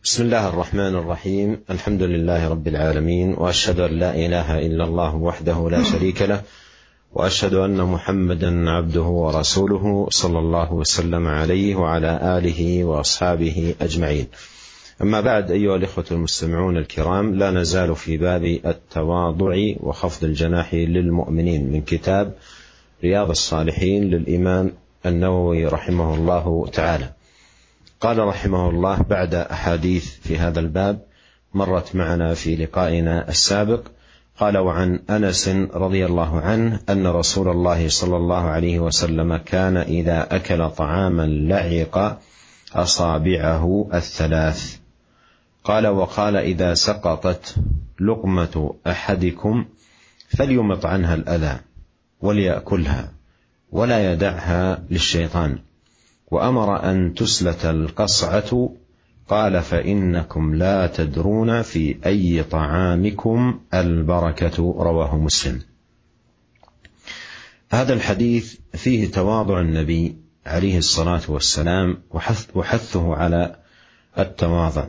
بسم الله الرحمن الرحيم. الحمد لله رب العالمين، وأشهد أن لا إله إلا الله وحده لا شريك له، وأشهد أن محمدا عبده ورسوله صلى الله وسلم عليه وعلى آله وأصحابه أجمعين. أما بعد، أيها الإخوة المستمعون الكرام، لا نزال في باب التواضع وخفض الجناح للمؤمنين من كتاب رياض الصالحين للإمام النووي رحمه الله تعالى. قال رحمه الله بعد أحاديث في هذا الباب مرت معنا في لقائنا السابق، قال: وعن أنس رضي الله عنه أن رسول الله صلى الله عليه وسلم كان إذا أكل طعاما لعق أصابعه الثلاث. قال: وقال: إذا سقطت لقمة أحدكم فليمط عنها الأذى وليأكلها ولا يدعها للشيطان. وأمر أن تسلت القصعة. قال: فإنكم لا تدرون في أي طعامكم البركة. رواه مسلم. هذا الحديث فيه تواضع النبي عليه الصلاة والسلام وحثه على التواضع،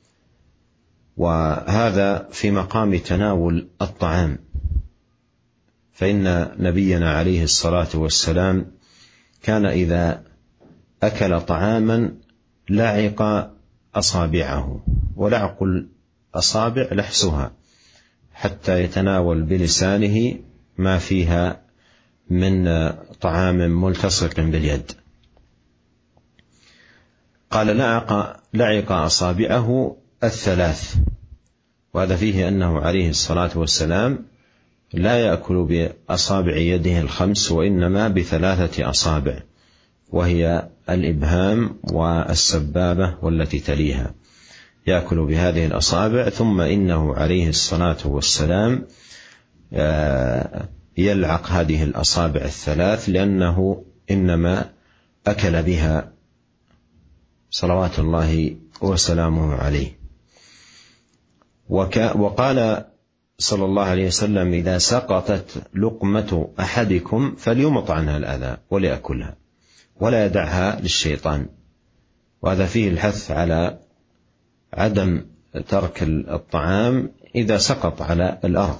وهذا في مقام تناول الطعام، فإن نبينا عليه الصلاة والسلام كان إذا أكل طعاما لعق أصابعه، ولعق الأصابع لحسها حتى يتناول بلسانه ما فيها من طعام ملتصق باليد. قال: لعق أصابعه الثلاث، وهذا فيه أنه عليه الصلاة والسلام لا يأكل بأصابع يده الخمس، وإنما بثلاثة أصابع، وهي الإبهام والسبابة والتي تليها، يأكل بهذه الأصابع. ثم إنه عليه الصلاة والسلام يلعق هذه الأصابع الثلاث، لأنه إنما أكل بها صلوات الله وسلامه عليه. وقال صلى الله عليه وسلم: إذا سقطت لقمة أحدكم فليمط عنها الأذى وليأكلها ولا يدعها للشيطان. وهذا فيه الحث على عدم ترك الطعام إذا سقط على الأرض،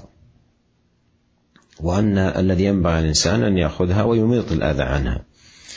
وأن الذي ينبغي الإنسان أن يأخذها ويميط الأذى عنها.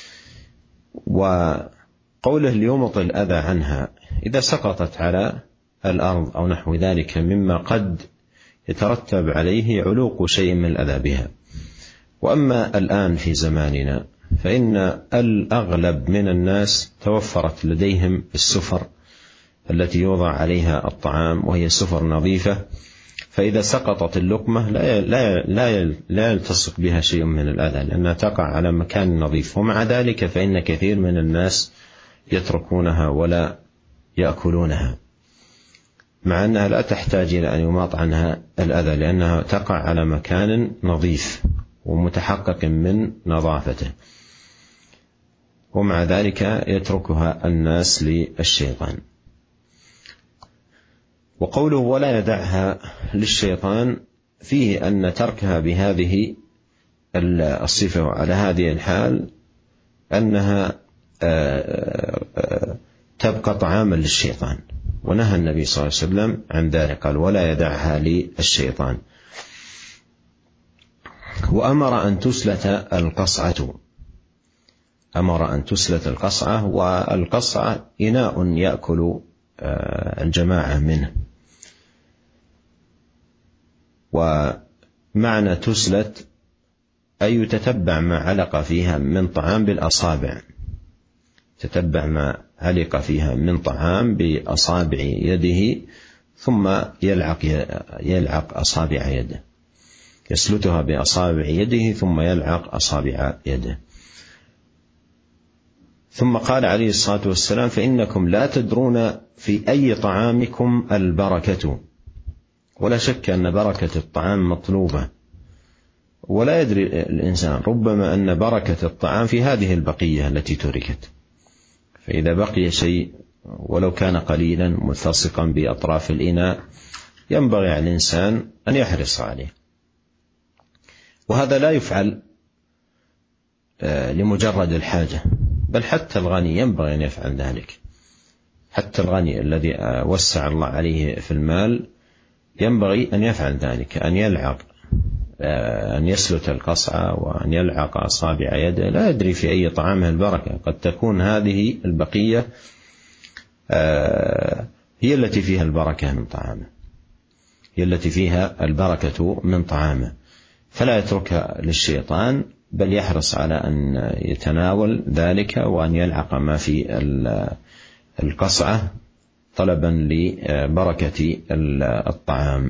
وقوله ليمط الأذى عنها إذا سقطت على الأرض أو نحو ذلك مما قد يترتب عليه علوق شيء من الأذى بها. وأما الآن في زماننا فإن الأغلب من الناس توفرت لديهم السفر التي يوضع عليها الطعام، وهي سفر نظيفة، فإذا سقطت اللقمة لا يلتصق بها شيء من الأذى، لأنها تقع على مكان نظيف. ومع ذلك فإن كثير من الناس يتركونها ولا يأكلونها، مع أنها لا تحتاج إلى أن يماط عنها الأذى، لأنها تقع على مكان نظيف ومتحقق من نظافته، ومع ذلك يتركها الناس للشيطان. وقوله ولا يدعها للشيطان فيه أن تركها بهذه الصفة وعلى هذه الحال أنها تبقى طعاما للشيطان، ونهى النبي صلى الله عليه وسلم عن ذلك، قال: ولا يدعها للشيطان. وأمر أن تسلت القصعة. أمر أن تسلت القصعة، والقصعة إناء يأكل الجماعة منه. ومعنى تسلت أي تتبع ما علق فيها من طعام بالأصابع، تتبع ما علق فيها من طعام بأصابع يده، ثم يلعق أصابع يده، يسلتها بأصابع يده ثم يلعق أصابع يده. ثم قال عليه الصلاة والسلام: فإنكم لا تدرون في أي طعامكم البركة. ولا شك أن بركة الطعام مطلوبة، ولا يدري الإنسان ربما أن بركة الطعام في هذه البقية التي تركت، فإذا بقي شيء ولو كان قليلا ملتصقا بأطراف الإناء ينبغي على الإنسان أن يحرص عليه. وهذا لا يفعل لمجرد الحاجة، بل حتى الغني ينبغي أن يفعل ذلك، حتى الغني الذي وسع الله عليه في المال ينبغي أن يفعل ذلك، أن يلعق، أن يسلت القصعة وأن يلعق أصابع يده، لا يدري في أي طعامه البركة. قد تكون هذه البقية هي التي فيها البركة من طعامه، هي التي فيها البركة من طعامه، فلا يتركها للشيطان، بل يحرص على أن يتناول ذلك وأن يلعق ما في القصعة طلبا لبركة الطعام.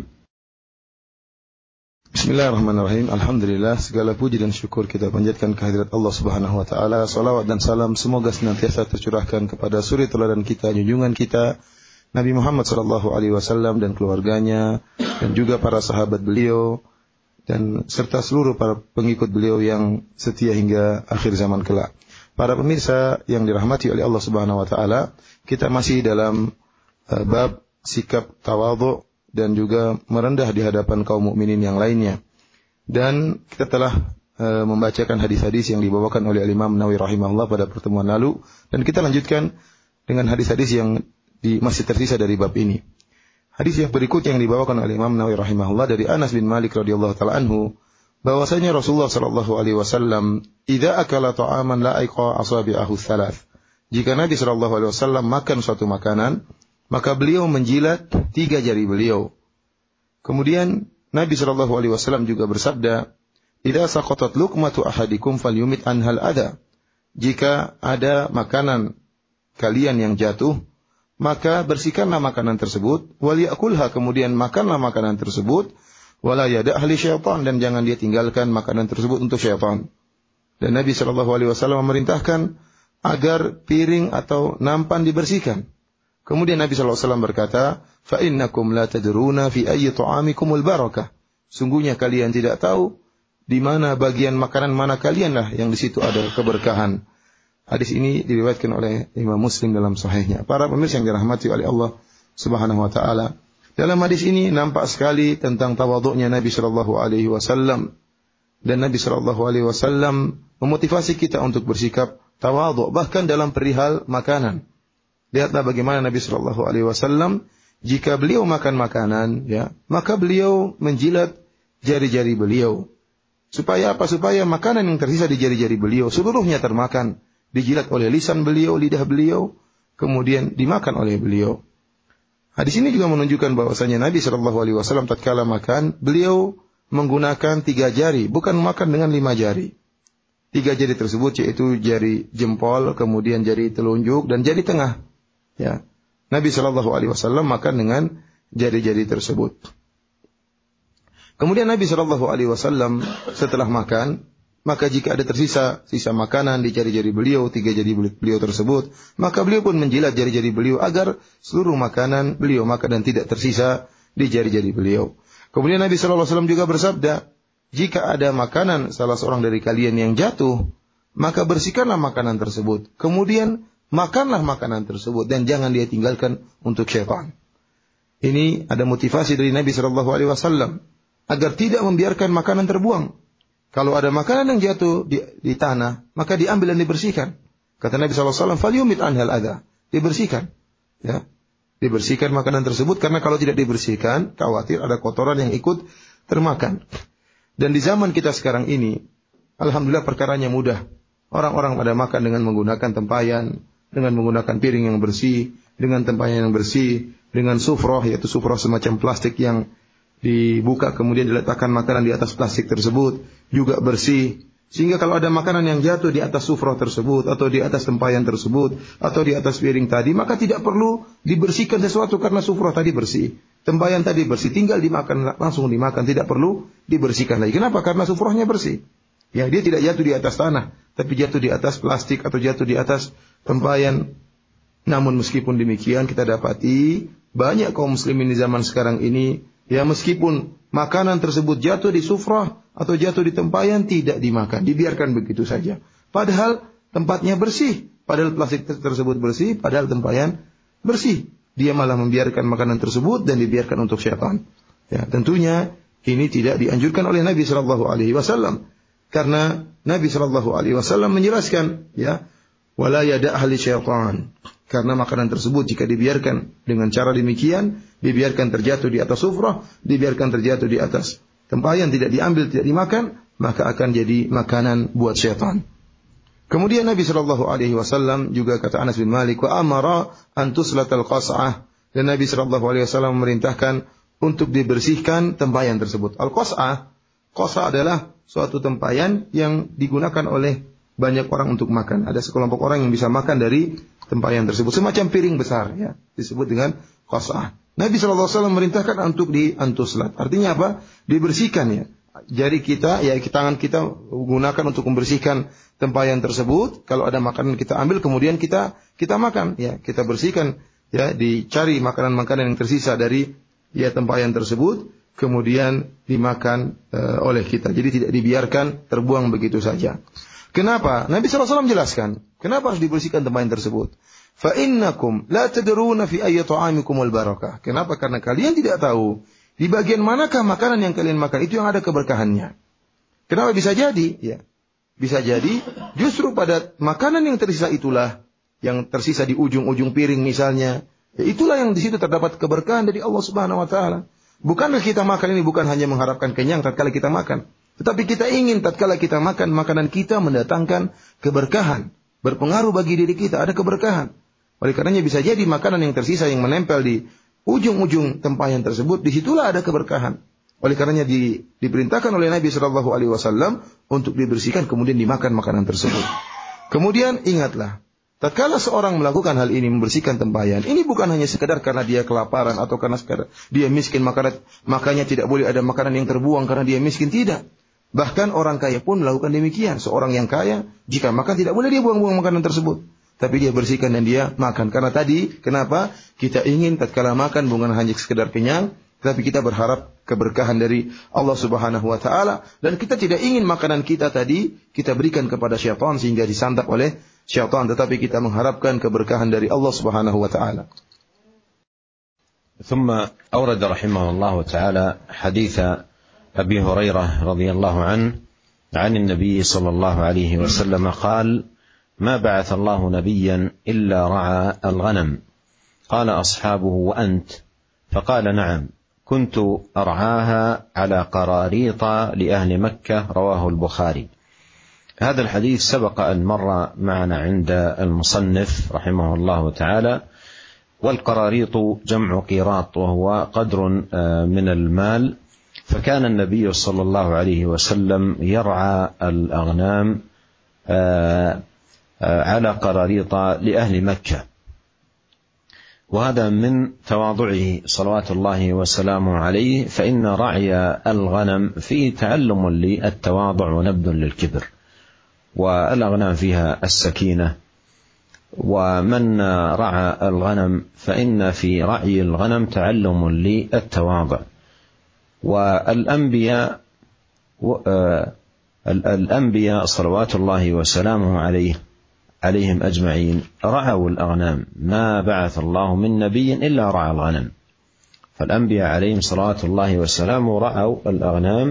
Bismillahirrahmanirrahim. Alhamdulillah, segala puji dan syukur kita panjatkan kehadirat Allah Subhanahu wa taala. Salawat dan salam semoga senantiasa tercurahkan kepada suri teladan kita, junjungan kita Nabi Muhammad sallallahu alaihi wasallam dan keluarganya, dan juga para sahabat beliau dan serta seluruh para pengikut beliau yang setia hingga akhir zaman kelak. Para pemirsa yang dirahmati oleh Allah Subhanahu wa taala, kita masih dalam bab sikap tawadhu dan juga merendah di hadapan kaum mukminin yang lainnya. Dan kita telah membacakan hadis-hadis yang dibawakan oleh Imam Nawawi rahimahullah pada pertemuan lalu, dan kita lanjutkan dengan hadis-hadis yang masih tersisa dari bab ini. Hadis yang berikutnya yang dibawakan oleh Imam Nawawi rahimahullah dari Anas bin Malik radhiyallahu taala anhu, bahwasanya Rasulullah sallallahu alaihi wasallam idza akala ta'aman la'iqa asabi'ahu thalath. Jika Nabi sallallahu alaihi wasallam makan suatu makanan, maka beliau menjilat 3 jari beliau. Kemudian Nabi sallallahu alaihi wasallam juga bersabda, "Idza saqatat luqmatu ahadikum falyumit anhal adha." Jika ada makanan kalian yang jatuh, maka bersihkanlah makanan tersebut, wal yakulha, kemudian makanlah makanan tersebut, wala yada'ha li syaitan, dan jangan dia tinggalkan makanan tersebut untuk syaitan. Dan Nabi sallallahu alaihi wasallam memerintahkan agar piring atau nampan dibersihkan. Kemudian Nabi SAW berkata, فَإِنَّكُمْ لَا تَدْرُونَ فِي أَيِّ طَعَامِكُمُ الْبَرَكَةِ. Sungguhnya kalian tidak tahu di mana bagian makanan mana kalianlah yang di situ ada keberkahan. Hadis ini diriwayatkan oleh Imam Muslim dalam sahihnya. Para pemirsa yang dirahmati oleh Allah Subhanahu wa taala, dalam hadis ini nampak sekali tentang tawadhu'nya Nabi sallallahu alaihi wasallam, dan Nabi sallallahu alaihi wasallam memotivasi kita untuk bersikap tawadhu bahkan dalam perihal makanan. Lihatlah bagaimana Nabi sallallahu alaihi wasallam jika beliau makan makanan, ya, maka beliau menjilat jari-jari beliau. Supaya apa? Supaya makanan yang tersisa di jari-jari beliau seluruhnya termakan, dijilat oleh lisan beliau, lidah beliau, kemudian dimakan oleh beliau. Hadis ini juga menunjukkan bahwasanya Nabi sallallahu alaihi wasallam tatkala makan, beliau menggunakan 3 jari, bukan makan dengan 5 jari. 3 jari tersebut yaitu jari jempol, kemudian jari telunjuk dan jari tengah. Ya, Nabi sallallahu alaihi wasallam makan dengan jari-jari tersebut. Kemudian Nabi sallallahu alaihi wasallam setelah makan, maka jika ada sisa makanan di jari-jari beliau, 3 jari beliau tersebut, maka beliau pun menjilat jari-jari beliau agar seluruh makanan beliau makan dan tidak tersisa di jari-jari beliau. Kemudian Nabi sallallahu alaihi wasallam juga bersabda, jika ada makanan salah seorang dari kalian yang jatuh, maka bersihkanlah makanan tersebut. Kemudian makanlah makanan tersebut dan jangan dia tinggalkan untuk syaitan. Ini ada motivasi dari Nabi sallallahu alaihi wasallam agar tidak membiarkan makanan terbuang. Kalau ada makanan yang jatuh di tanah, maka diambil dan dibersihkan. Kata Nabi sallallahu alaihi wasallam, "Falyumit anhal adha." Dibersihkan. Ya. Dibersihkan makanan tersebut, karena kalau tidak dibersihkan, khawatir ada kotoran yang ikut termakan. Dan di zaman kita sekarang ini, alhamdulillah perkaranya mudah. Orang-orang pada makan dengan menggunakan tempayan, dengan menggunakan piring yang bersih, dengan tempayan yang bersih, dengan sufroh, yaitu sufroh semacam plastik yang dibuka kemudian diletakkan makanan di atas plastik tersebut, juga bersih. Sehingga kalau ada makanan yang jatuh di atas sufroh tersebut, atau di atas tempayan tersebut, atau di atas piring tadi, maka tidak perlu dibersihkan sesuatu karena sufroh tadi bersih. Tempayan tadi bersih, tinggal dimakan, langsung dimakan, tidak perlu dibersihkan lagi. Kenapa? Karena sufrohnya bersih. Ya, dia tidak jatuh di atas tanah, tapi jatuh di atas plastik atau jatuh di atas tempayan. Namun meskipun demikian, kita dapati banyak kaum muslimin di zaman sekarang ini, ya, meskipun makanan tersebut jatuh di sufrah atau jatuh di tempayan, tidak dimakan, dibiarkan begitu saja. Padahal tempatnya bersih, padahal plastik tersebut bersih, padahal tempayan bersih. Dia malah membiarkan makanan tersebut dan dibiarkan untuk syaitan. Ya, tentunya ini tidak dianjurkan oleh Nabi sallallahu alaihi wasallam. Karena Nabi sallallahu alaihi wasallam menjelaskan, ya, wala yada'ha li syaitan. Karena makanan tersebut jika dibiarkan dengan cara demikian, dibiarkan terjatuh di atas sufrah, dibiarkan terjatuh di atas tempayan, tidak diambil, tidak dimakan, maka akan jadi makanan buat syaitan. Kemudian Nabi sallallahu alaihi wasallam juga kata Anas bin Malik, wa amara an tuslatal qas'ah, dan Nabi sallallahu alaihi wasallam memerintahkan untuk dibersihkan tempayan tersebut. Al-qas'ah, qas'ah adalah suatu tempayan yang digunakan oleh banyak orang untuk makan. Ada sekelompok orang yang bisa makan dari tempayan tersebut, semacam piring besar, ya, disebut dengan qas'ah. Nabi SAW merintahkan untuk diantuslat. Artinya apa? Dibersihkan, ya. Jari kita, ya, tangan kita gunakan untuk membersihkan tempayan tersebut. Kalau ada makanan kita ambil, kemudian kita makan, ya. Kita bersihkan, ya, dicari makanan-makanan yang tersisa dari, ya, tempayan tersebut, kemudian dimakan oleh kita. Jadi tidak dibiarkan terbuang begitu saja. Kenapa? Nabi SAW jelaskan. Kenapa harus dibersihkan tempayan tersebut? فَإِنَّكُمْ لَا تَدْرُونَ فِي أَيِّ طَعَامِكُمُ الْبَرَكَةِ. Kenapa? Karena kalian tidak tahu di bagian manakah makanan yang kalian makan itu yang ada keberkahannya. Kenapa bisa jadi? Ya, bisa jadi justru pada makanan yang tersisa itulah, yang tersisa di ujung-ujung piring misalnya, ya, itulah yang di situ terdapat keberkahan dari Allah Subhanahu Wa Taala. Bukankah kita makan ini bukan hanya mengharapkan kenyang tatkala kita makan, tetapi kita ingin tatkala kita makan, makanan kita mendatangkan keberkahan, berpengaruh bagi diri kita, ada keberkahan. Oleh karenanya bisa jadi makanan yang tersisa yang menempel di ujung-ujung tempayan tersebut, disitulah ada keberkahan. Oleh karenanya diperintahkan oleh Nabi Shallallahu Alaihi Wasallam untuk dibersihkan kemudian dimakan makanan tersebut. Kemudian ingatlah, tatkala seorang melakukan hal ini, membersihkan tempayan, ini bukan hanya sekedar karena dia kelaparan atau karena sekedar dia miskin makanya tidak boleh ada makanan yang terbuang karena dia miskin, tidak. Bahkan orang kaya pun melakukan demikian. Seorang yang kaya jika makan tidak boleh dia buang-buang makanan tersebut, tapi dia bersihkan dan dia makan. Karena tadi, kenapa? Kita ingin tatkala makan bukan hanya sekedar kenyang, tapi kita berharap keberkahan dari Allah Subhanahu Wa Taala, dan kita tidak ingin makanan kita tadi kita berikan kepada syaitan sehingga disantap oleh syaitan, tetapi kita mengharapkan keberkahan dari Allah Subhanahu Wa Taala. ثم أورد رحمه الله تعالى حديث أبي هريرة رضي الله عنه عن النبي صلى الله عليه وسلم قال: ما بعث الله نبيا إلا رعى الغنم. قال أصحابه: وأنت؟ فقال: نعم، كنت أرعاها على قراريط لأهل مكة. رواه البخاري. هذا الحديث سبق أن مر معنا عند المصنف رحمه الله تعالى. والقراريط جمع قيراط، وهو قدر من المال. فكان النبي صلى الله عليه وسلم يرعى الأغنام على قراريط لأهل مكة، وهذا من تواضعه صلوات الله وسلامه عليه، فإن رعي الغنم فيه تعلم للتواضع ونبذ للكبر، والأغنام فيها السكينة. ومن رعى الغنم فإن في رعي الغنم تعلم للتواضع. والأنبياء صلوات الله وسلامه عليهم أجمعين رعوا الأغنام، ما بعث الله من نبي إلا رعى الغنم. فالأنبياء عليهم صلوات الله وسلامه رعوا الأغنام،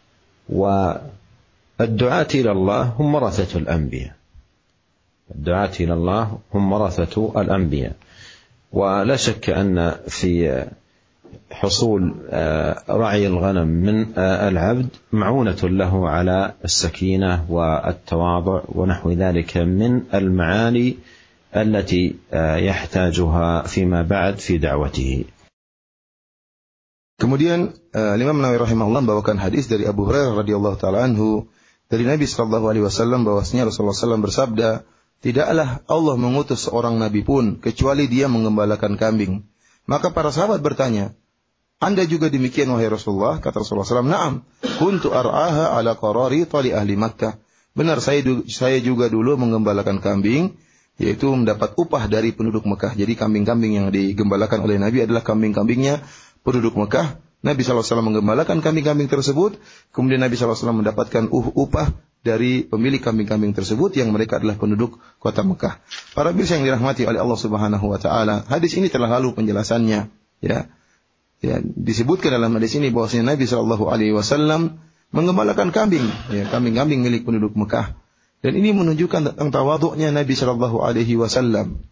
والدعاة إلى الله هم ورثة الأنبياء. الدعاة إلى الله هم ورثة الأنبياء. ولا شك أن في حصول رعي الغنم من العبد معونة له على السكينة والتواضع ونحو ذلك من المعاني التي يحتاجها فيما بعد في دعوته. Kemudian Imam Nawawi rahimahullah membawakan hadis dari Abu Hurairah radhiyallahu taala anhu dari Nabi sallallahu alaihi wasallam bahwasanya Rasulullah SAW bersabda, tidaklah Allah mengutus seorang nabi pun kecuali dia menggembalakan kambing. Maka para sahabat bertanya, Anda juga demikian wahai Rasulullah? Kata Rasulullah SAW, Naam, kuntu ar'aha ala qararita li ahli Makkah. Benar, saya juga dulu menggembalakan kambing, yaitu mendapat upah dari penduduk Mekah. Jadi kambing-kambing yang digembalakan oleh Nabi adalah kambing-kambingnya penduduk Mekah. Nabi SAW menggembalakan kambing-kambing tersebut, kemudian Nabi SAW mendapatkan upah dari pemilik kambing-kambing tersebut yang mereka adalah penduduk kota Mekah. Para pemirsa yang dirahmati oleh Allah Subhanahu Wa Taala, hadis ini telah lalu penjelasannya. Ya, disebutkan dalam hadis ini bahwasanya Nabi Shallallahu Alaihi Wasallam menggembalakan kambing, ya, kambing-kambing milik penduduk Mekah. Dan ini menunjukkan tentang tawaduknya Nabi Shallallahu Alaihi Wasallam.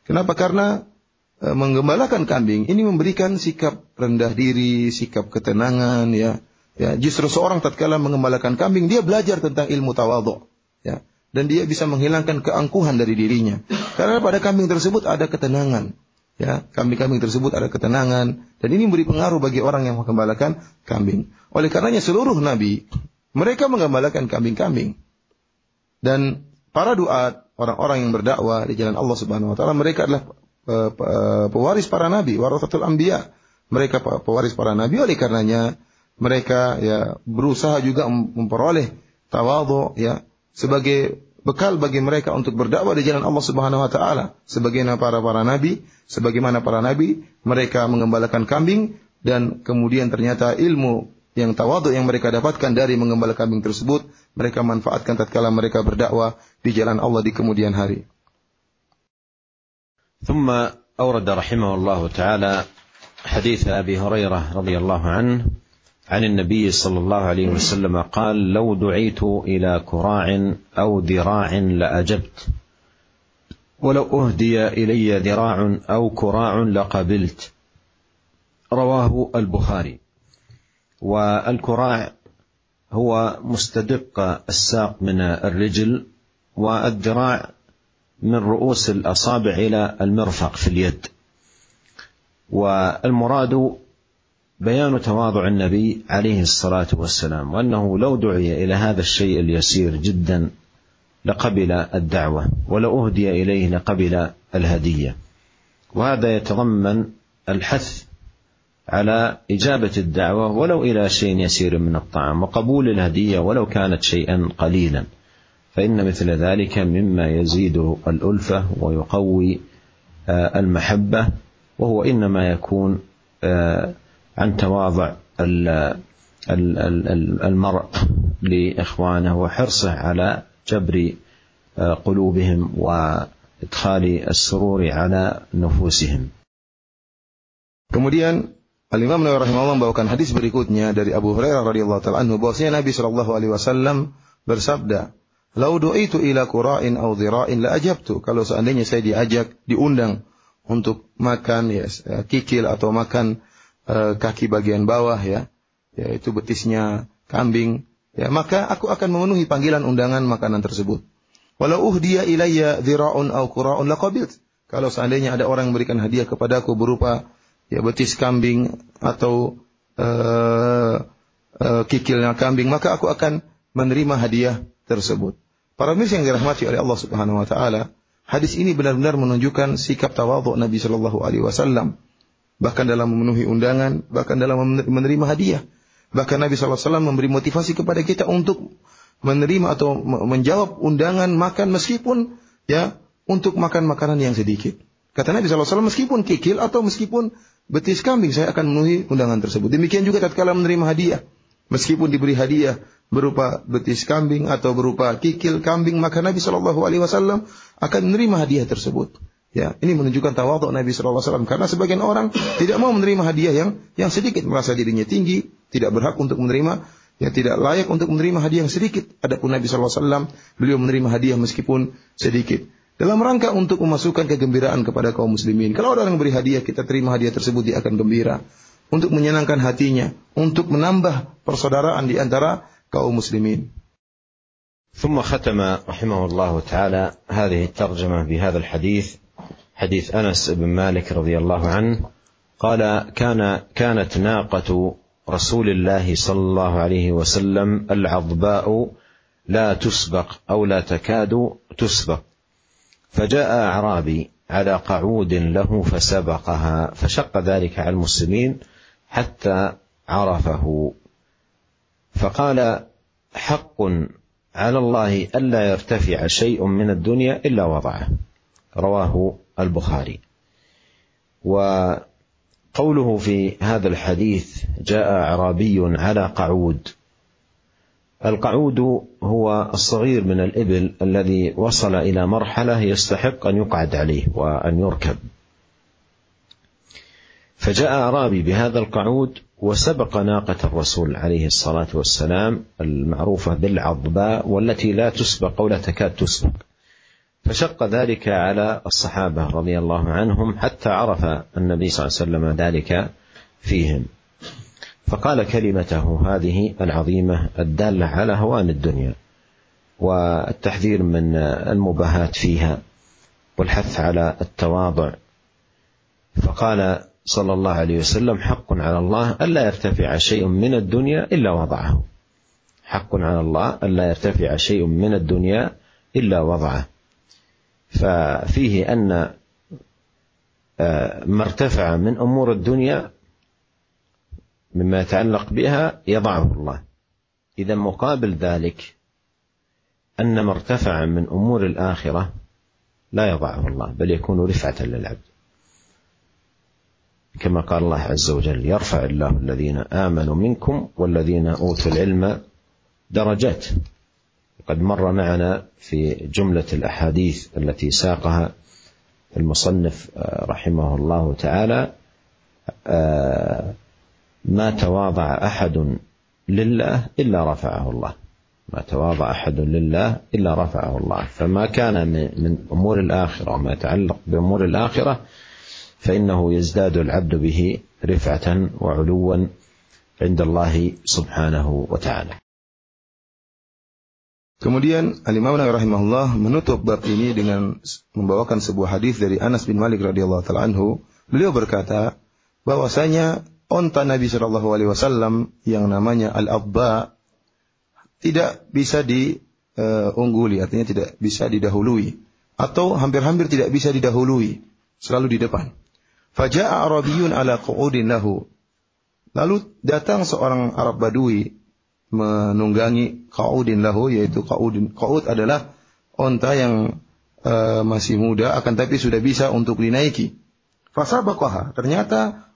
Kenapa? Karena menggembalakan kambing ini memberikan sikap rendah diri, sikap ketenangan, ya. Ya, justru seorang tatkala mengembalakan kambing, dia belajar tentang ilmu tawadhu, ya. Dan dia bisa menghilangkan keangkuhan dari dirinya. Karena pada kambing tersebut ada ketenangan. Ya, kambing-kambing tersebut ada ketenangan, dan ini memberi pengaruh bagi orang yang menggembalakan kambing. Oleh karenanya seluruh nabi mereka menggembalakan kambing-kambing. Dan para duat, orang-orang yang berdakwah di jalan Allah Subhanahu wa taala, mereka adalah pewaris para nabi, warasatul anbiya. Mereka pewaris para nabi, oleh karenanya mereka ya berusaha juga memperoleh tawadhu, ya, sebagai bekal bagi mereka untuk berdakwah di jalan Allah Subhanahu wa taala. Sebagaimana para nabi, mereka menggembalakan kambing, dan kemudian ternyata ilmu yang tawadhu yang mereka dapatkan dari menggembala kambing tersebut, mereka manfaatkan tatkala mereka berdakwah di jalan Allah di kemudian hari. ثم أورد رحمه الله تعالى حديث أبي هريرة رضي الله عنه عن النبي صلى الله عليه وسلم قال: لو دعيت إلى كراع أو ذراع لأجبت، ولو أهدي إلي ذراع أو كراع لقبلت. رواه البخاري. والكراع هو مستدق الساق من الرجل، والذراع من رؤوس الأصابع إلى المرفق في اليد. والمراد بيان تواضع النبي عليه الصلاة والسلام، وأنه لو دعي إلى هذا الشيء اليسير جدا لقبل الدعوة، ولو أهدي إليه لقبل الهدية. وهذا يتضمن الحث على إجابة الدعوة ولو إلى شيء يسير من الطعام، وقبول الهدية ولو كانت شيئا قليلا، فإن مثل ذلك مما يزيد الألفة ويقوي المحبة، وهو إنما يكون عن تواضع المرء لإخوانه وحرصه على جبر قلوبهم وإدخال السرور على نفوسهم. Kemudian Al-Imam Nawawi rahimahullah membawakan hadis berikutnya dari Abu Hurairah radhiyallahu ta'ala anhu, bahwasanya Nabi sallallahu alaihi wasallam bersabda, "Lau du'itu ila qura'in aw dhira'in la ajabtu." Kalau seandainya saya diundang untuk makan kikil atau makan kaki bagian bawah, yaitu betisnya kambing, maka aku akan memenuhi panggilan undangan makanan tersebut. Walau uhdiya ilayya dhira'un aw qura'un laqabilt. Kalau seandainya ada orang yang memberikan hadiah kepadaku berupa betis kambing atau kikilnya kambing, maka aku akan menerima hadiah tersebut. Para pemirsa yang dirahmati oleh Allah Subhanahu wa taala, hadis ini benar-benar menunjukkan sikap tawadhu Nabi sallallahu alaihi wasallam, bahkan dalam memenuhi undangan, bahkan dalam menerima hadiah. Bahkan Nabi sallallahu alaihi wasallam memberi motivasi kepada kita untuk menerima atau menjawab undangan makan, meskipun untuk makan makanan yang sedikit. Kata Nabi sallallahu alaihi wasallam, meskipun kikil atau meskipun betis kambing, saya akan memenuhi undangan tersebut. Demikian juga tatkala menerima hadiah, meskipun diberi hadiah berupa betis kambing atau berupa kikil kambing, maka Nabi sallallahu alaihi wasallam akan menerima hadiah tersebut. Ini menunjukkan tawadhu Nabi sallallahu alaihi wasallam, karena sebagian orang tidak mau menerima hadiah yang sedikit, merasa dirinya tinggi, tidak berhak untuk menerima, tidak layak untuk menerima hadiah yang sedikit. Adapun Nabi sallallahu alaihi wasallam, beliau menerima hadiah meskipun sedikit, dalam rangka untuk memasukkan kegembiraan kepada kaum muslimin. Kalau orang beri hadiah, kita terima hadiah tersebut, dia akan gembira, untuk menyenangkan hatinya, untuk menambah persaudaraan di antara kaum muslimin. ثم ختم رحمه الله تعالى هذه الترجمة بهذا الحديث، حديث أنس بن مالك رضي الله عنه قال: كانت ناقة رسول الله صلى الله عليه وسلم العضباء لا تسبق أو لا تكاد تسبق، فجاء أعرابي على قعود له فسبقها، فشق ذلك على المسلمين حتى عرفه، فقال: حق على الله ألا يرتفع شيء من الدنيا إلا وضعه. رواه البخاري. وقوله في هذا الحديث جاء أعرابي على قعود، القعود هو الصغير من الإبل الذي وصل إلى مرحلة يستحق أن يقعد عليه وأن يركب، فجاء أعرابي بهذا القعود وسبق ناقة الرسول عليه الصلاة والسلام المعروفة بالعضباء، والتي لا تسبق ولا تكاد تسبق، فشق ذلك على الصحابة رضي الله عنهم حتى عرف النبي صلى الله عليه وسلم ذلك فيهم، فقال كلمته هذه العظيمة الدالة على هوان الدنيا والتحذير من المباهات فيها والحث على التواضع. فقال صلى الله عليه وسلم: حق على الله ألا يرتفع شيء من الدنيا إلا وضعه. حق على الله ألا يرتفع شيء من الدنيا إلا وضعه. ففيه أن ما ارتفع من أمور الدنيا مما يتعلق بها يضعه الله. إذا مقابل ذلك أن ما ارتفع من أمور الآخرة لا يضعه الله، بل يكون رفعة للعبد، كما قال الله عز وجل: يرفع الله الذين آمنوا منكم والذين أوتوا العلم درجات. قد مر معنا في جملة الأحاديث التي ساقها المصنف رحمه الله تعالى: ما تواضع أحد لله إلا رفعه الله. ما تواضع أحد لله إلا رفعه الله. فما كان من أمور الآخرة وما يتعلق بأمور الآخرة فإنه يزداد العبد به رفعة وعلوا عند الله سبحانه وتعالى. Kemudian Al-Imam Nawawi rahimahullah menutup bab ini dengan membawakan sebuah hadis dari Anas bin Malik radhiyallahu taala anhu. Beliau berkata bahwasanya onta Nabi sallallahu alaihi wasallam yang namanya Al-Abba tidak bisa diungguli, artinya tidak bisa didahului, atau hampir-hampir tidak bisa didahului, selalu di depan. Faja'a Arabiyyun ala qu'udin lahu. Lalu datang seorang Arab Badui menunggangi qa'udin lahu, yaitu qa'ud adalah onta yang masih muda akan tapi sudah bisa untuk dinaiki. Fasabaqaha, ternyata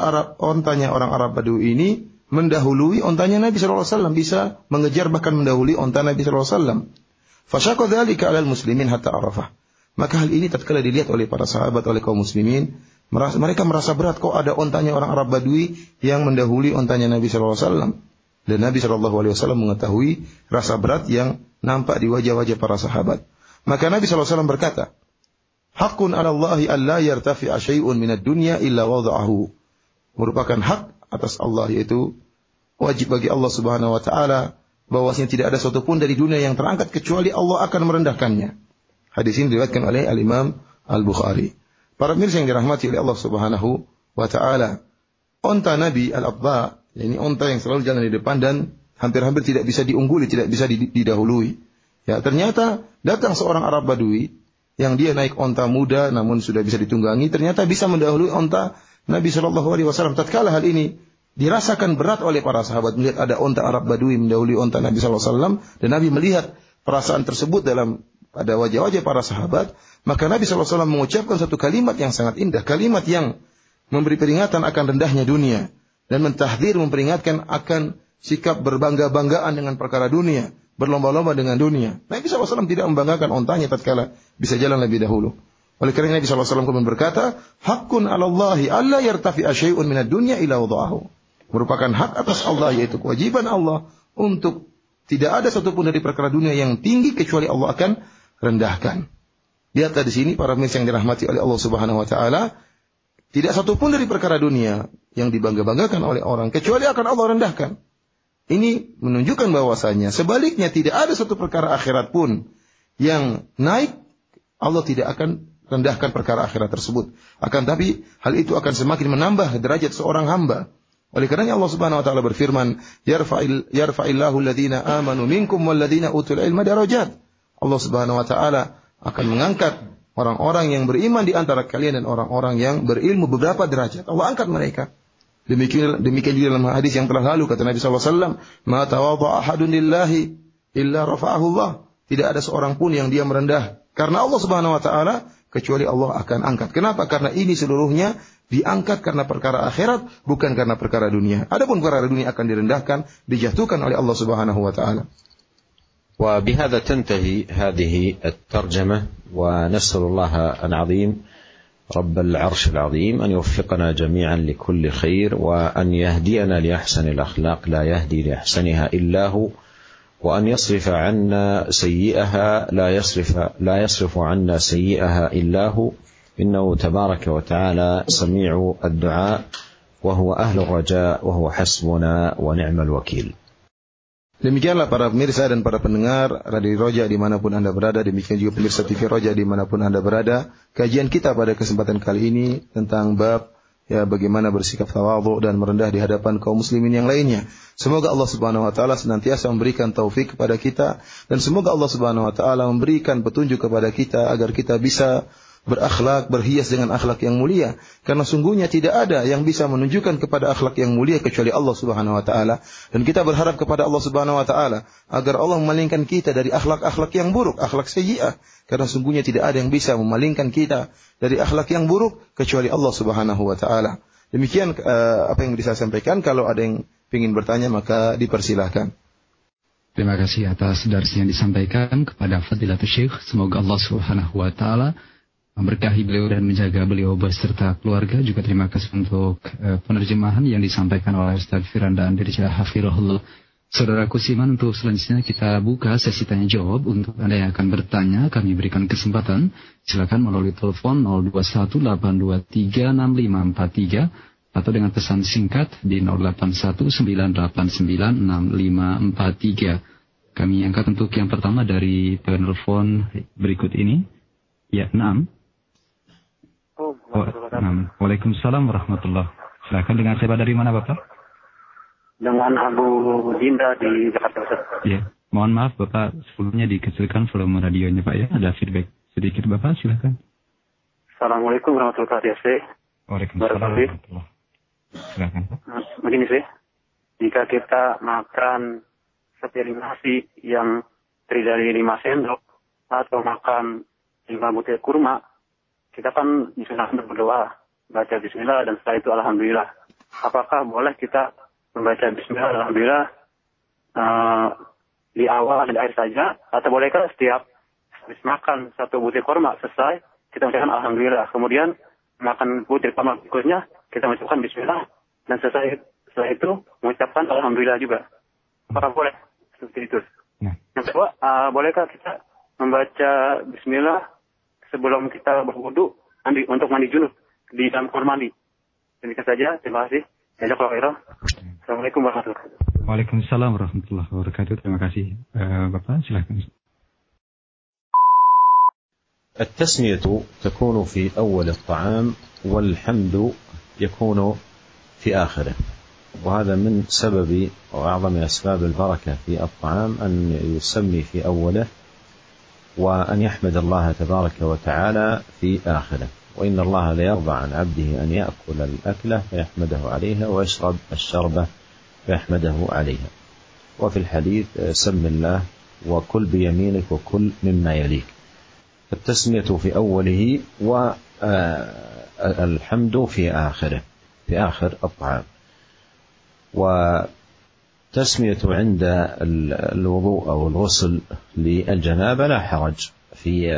ontanya orang Arab Badui ini mendahului ontanya Nabi sallallahu alaihi wasallam, bisa mengejar bahkan mendahului onta Nabi sallallahu alaihi wasallam. Fasyaqa dzalika 'alal muslimin hatta arafah. Maka hal ini tatkala dilihat oleh para sahabat, oleh kaum muslimin, mereka merasa berat, kok ada ontanya orang Arab Badui yang mendahului ontanya Nabi sallallahu alaihi wasallam. Dan Nabi sallallahu alaihi wasallam mengetahui rasa berat yang nampak di wajah-wajah para sahabat. Maka Nabi sallallahu alaihi wasallam berkata, "Haqqun 'ala Allahi an la yartafi'a syai'un minad dunya illa wada'ahu." Merupakan hak atas Allah, yaitu wajib bagi Allah Subhanahu wa taala bahwasanya tidak ada sesuatu pun dari dunia yang terangkat kecuali Allah akan merendahkannya. Hadis ini diriwayatkan oleh Al-Imam Al-Bukhari. Para pemirsa yang dirahmati oleh Allah Subhanahu wa taala, onta Nabi Al-Abba, ini onta yang selalu jalan di depan dan hampir-hampir tidak bisa diungguli, tidak bisa didahului. Ya, ternyata datang seorang Arab Badui yang dia naik onta muda namun sudah bisa ditunggangi, ternyata bisa mendahului onta Nabi sallallahu alaihi wasallam. Tatkala hal ini dirasakan berat oleh para sahabat melihat ada onta Arab Badui mendahului onta Nabi sallallahu alaihi wasallam, dan Nabi melihat perasaan tersebut pada wajah-wajah para sahabat, maka Nabi sallallahu alaihi wasallam mengucapkan satu kalimat yang sangat indah, kalimat yang memberi peringatan akan rendahnya dunia dan mentahdzir, memperingatkan akan sikap berbangga-banggaan dengan perkara dunia, berlomba-lomba dengan dunia. Nabi sallallahu alaihi wasallam tidak membanggakan ontanya tatkala bisa jalan lebih dahulu. Oleh karena Nabi sallallahu alaihi wasallam kemudian berkata, "Haqqun 'ala Allahi alla yartafi'a syai'un minad dunya illa wada'ahu." Merupakan hak atas Allah, yaitu kewajiban Allah untuk tidak ada satupun dari perkara dunia yang tinggi kecuali Allah akan rendahkan. Lihat di sini para pemirsa yang dirahmati oleh Allah Subhanahu wa taala, tidak satupun dari perkara dunia yang dibangga-banggakan oleh orang kecuali akan Allah rendahkan. Ini menunjukkan bahwasanya sebaliknya tidak ada satu perkara akhirat pun yang naik, Allah tidak akan rendahkan perkara akhirat tersebut. Akan tapi hal itu akan semakin menambah derajat seorang hamba. Oleh karenanya Allah Subhanahu wa taala berfirman, "Yarfa'illahu alladhina amanu minkum walladhina utul ilma darajat." Allah Subhanahu wa taala akan mengangkat orang-orang yang beriman di antara kalian dan orang-orang yang berilmu beberapa derajat. Allah angkat mereka. Demikian juga dalam hadis yang telah lalu kata Nabi sallallahu alaihi wasallam, "Ma tawadha'a ahadun lillahi illa rafa'ahu Allah." Tidak ada seorang pun yang dia merendah karena Allah Subhanahu wa taala kecuali Allah akan angkat. Kenapa? Karena ini seluruhnya diangkat karena perkara akhirat, bukan karena perkara dunia. Adapun perkara dunia akan direndahkan, dijatuhkan oleh Allah Subhanahu wa taala. وبهذا تنتهي هذه الترجمة، ونسأل الله العظيم رب العرش العظيم أن يوفقنا جميعا لكل خير، وأن يهدينا لأحسن الأخلاق لا يهدي لأحسنها إلا هو، وأن يصرف عنا سيئها لا يصرف عنا سيئها إلا هو إنه تبارك وتعالى سميع الدعاء وهو أهل الرجاء وهو حسبنا ونعم الوكيل. Demikianlah para pemirsa dan para pendengar Radio Roja dimanapun Anda berada, demikian juga pemirsa TV Roja dimanapun Anda berada. Kajian kita pada kesempatan kali ini tentang bab bagaimana bersikap tawadhu dan merendah di hadapan kaum muslimin yang lainnya. Semoga Allah Subhanahu wa taala senantiasa memberikan taufik kepada kita dan semoga Allah Subhanahu wa taala memberikan petunjuk kepada kita agar kita bisa berakhlak, berhias dengan akhlak yang mulia. Karena sungguhnya tidak ada yang bisa menunjukkan kepada akhlak yang mulia kecuali Allah Subhanahu wa taala. Dan kita berharap kepada Allah Subhanahu wa taala agar Allah memalingkan kita dari akhlak-akhlak yang buruk, akhlak sayyi'ah. Karena sungguhnya tidak ada yang bisa memalingkan kita dari akhlak yang buruk kecuali Allah Subhanahu wa taala. Demikian apa yang bisa saya sampaikan. Kalau ada yang ingin bertanya maka dipersilahkan. Terima kasih atas darsi yang disampaikan kepada Fadilatul Syekh. Semoga Allah Subhanahu wa taala memberkahi beliau dan menjaga beliau beserta keluarga. Juga terima kasih untuk penerjemahan yang disampaikan oleh Ustaz Firanda Andirja Hafirullah. Saudaraku Siman, untuk selanjutnya kita buka sesi tanya jawab. Untuk Anda yang akan bertanya, kami berikan kesempatan. Silakan melalui telepon 0218236543 atau dengan pesan singkat di 0819896543. Kami angkat untuk yang pertama dari penelpon berikut ini. Ya, 6. Waalaikumsalam warahmatullahi. Silakan, dengan siapa dari mana Bapak? Dengan Abu Dinda di Jakarta Pusat. Ya, mohon maaf Bapak, sebelumnya dikecilkan volume radionya Pak ya. Ada feedback sedikit Bapak, silakan. Assalamualaikum warahmatullahi wabarakatuh. Waalaikumsalam warahmatullahi. Silakan Pak. Begini sih, jika kita makan sepiring nasi yang terdiri dari 5 sendok atau makan 5 butir kurma, kita kan disunahkan berdoa, baca bismillah dan setelah itu alhamdulillah. Apakah boleh kita membaca bismillah alhamdulillah di awal dan di akhir saja, atau bolehkah setiap habis makan 1 butir kurma selesai kita mengucapkan alhamdulillah, kemudian makan butir kurma berikutnya kita mengucapkan bismillah dan setelah itu mengucapkan alhamdulillah juga? Apakah boleh seperti itu? Yang kedua, bolehkah kita membaca bismillah sebelum kita berwudu untuk mandi junub di dalam kamar mandi? Demikian saja, terima kasih. Jazakallahu khairan. Assalamualaikum warahmatullahi wabarakatuh. Waalaikumsalam warahmatullahi wabarakatuh. Terima kasih. Bapak silakan. التسمية تكون في أول الطعام والحمد يكون في آخره، وهذا من سبب وأعظم أسباب البركة في الطعام أن يسمي في أوله وأن يحمد الله تبارك وتعالى في آخره. وإن الله لا يرضى عن عبده أن يأكل الأكلة فيحمده عليها ويشرب الشربة فيحمده عليها. وفي الحديث سم الله وكل بيمينك وكل مما يليك. التسمية في أوله والحمد في آخره، في آخر الطعام. وتسمية عند الوضوء أو الغسل للجنابة لا حرج في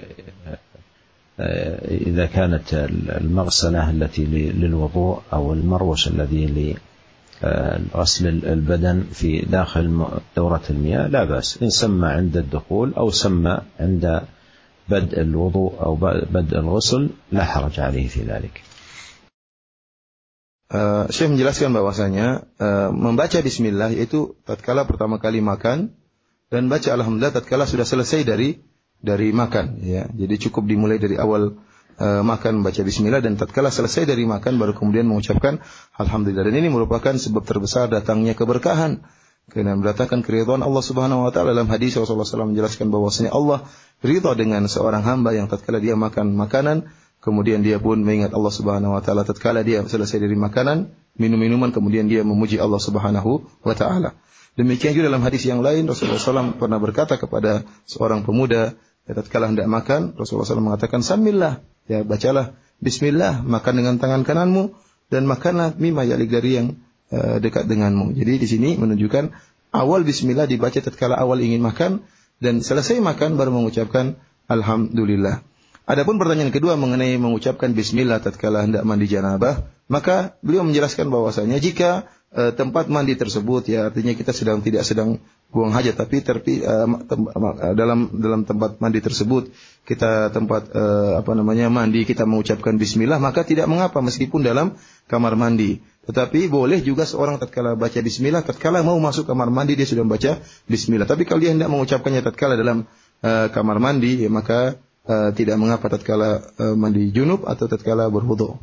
إذا كانت المغسلة التي للوضوء أو المروش الذي لغسل البدن في داخل دورة المياه لا بأس، إن سمى عند الدخول أو سمى عند بدء الوضوء أو بدء الغسل لا حرج عليه في ذلك. Syekh menjelaskan bahwasanya membaca bismillah yaitu tatkala pertama kali makan dan baca alhamdulillah tatkala sudah selesai dari makan ya. Jadi cukup dimulai dari awal makan membaca bismillah dan tatkala selesai dari makan baru kemudian mengucapkan alhamdulillah. Dan ini merupakan sebab terbesar datangnya keberkahan karena mendatangkan keridhaan Allah Subhanahu wa taala. Dalam hadis Rasulullah SAW menjelaskan bahwasanya Allah ridha dengan seorang hamba yang tatkala dia makan makanan kemudian dia pun mengingat Allah Subhanahu wa taala tatkala dia selesai dari makanan, minum minuman kemudian dia memuji Allah Subhanahu wa taala. Demikian juga dalam hadis yang lain Rasulullah SAW pernah berkata kepada seorang pemuda tatkala hendak makan, Rasulullah SAW mengatakan samillah, ya bacalah bismillah, makan dengan tangan kananmu dan makanlah mimma yalik dari yang dekat denganmu. Jadi di sini menunjukkan awal bismillah dibaca tatkala awal ingin makan dan selesai makan baru mengucapkan alhamdulillah. Adapun pertanyaan kedua mengenai mengucapkan bismillah tatkala hendak mandi janabah, maka beliau menjelaskan bahwasanya jika tempat mandi tersebut, ya artinya kita tidak sedang buang hajat, tapi dalam tempat mandi tersebut kita mandi, kita mengucapkan bismillah, maka tidak mengapa meskipun dalam kamar mandi. Tetapi boleh juga seorang tatkala baca bismillah, tatkala mau masuk kamar mandi dia sudah membaca bismillah. Tapi kalau dia hendak mengucapkannya tatkala dalam kamar mandi, ya maka tidak mengapa tatkala mandi junub atau tatkala berwudu.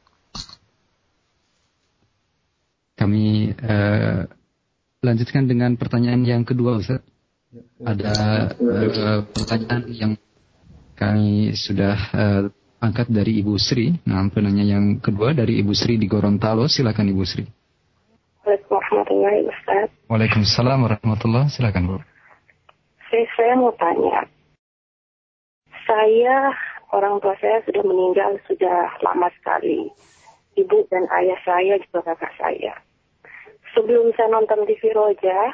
Kami lanjutkan dengan pertanyaan yang kedua, Ustaz. Ada pertanyaan yang kami sudah angkat dari Ibu Sri. Nah, penanya yang kedua dari Ibu Sri di Gorontalo. Silakan Ibu Sri. Waalaikumsalam, Ustaz. Waalaikumsalam warahmatullahi. Silakan, Bu. Saya mau tanya. Orang tua saya sudah meninggal sudah lama sekali. Ibu dan ayah saya juga kakak saya. Sebelum saya nonton TV Roja,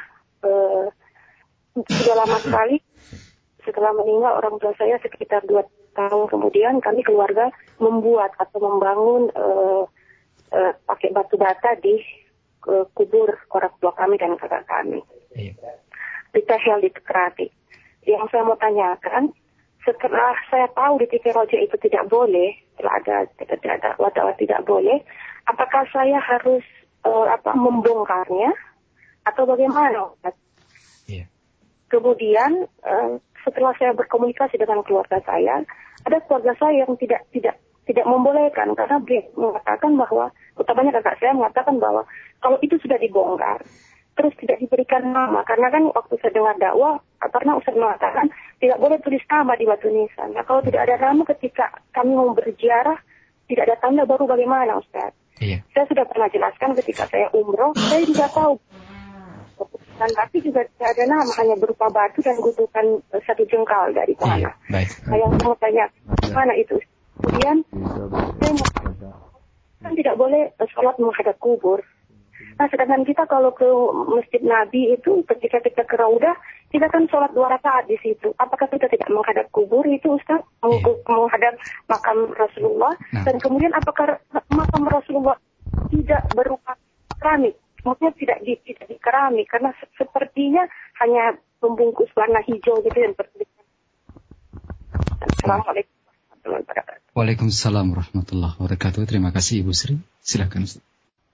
sudah lama sekali. Setelah meninggal orang tua saya sekitar 2 tahun kemudian kami keluarga membuat atau membangun pakai batu bata di kubur orang tua kami dan kakak kami. Di Tehel di Tekrati. Yang saya mau tanyakan, setelah saya tahu di TV Roja itu tidak boleh, setelah ada wadawa tidak boleh, apakah saya harus membongkarnya atau bagaimana? Yeah. Kemudian setelah saya berkomunikasi dengan keluarga saya, ada keluarga saya yang tidak membolehkan karena dia mengatakan bahwa, utamanya kakak saya mengatakan bahwa kalau itu sudah dibongkar, terus tidak diberikan nama, karena kan waktu saya dengar dakwah, karena Ustaz mengatakan tidak boleh tulis nama di batu nisan. Nah, kalau tidak ada nama ketika kami mau berziarah, tidak ada tanda, baru bagaimana, Ustaz? Iya. Saya sudah pernah jelaskan ketika saya umroh, saya juga tahu. Dan tapi juga tidak ada nama, hanya berupa batu dan gundukan 1 jengkal dari tanah. Baik. Saya mau tanya, mana itu? Kemudian, saya kan tidak boleh sholat menghadap kubur. Nah, sedangkan kita kalau ke Masjid Nabi itu, ketika kita ke Raudah, kita kan sholat 2 rakaat di situ. Apakah kita tidak menghadap kubur itu, Ustaz? Menghadap makam Rasulullah? Nah. Dan kemudian apakah makam Rasulullah tidak berupa keramik? Maksudnya tidak di keramik, karena sepertinya hanya membungkus warna hijau gitu dan bertuliskan. Assalamualaikum warahmatullahi wabarakatuh. Waalaikumsalam warahmatullahi wabarakatuh. Terima kasih Ibu Sri. Silakan, Ustaz.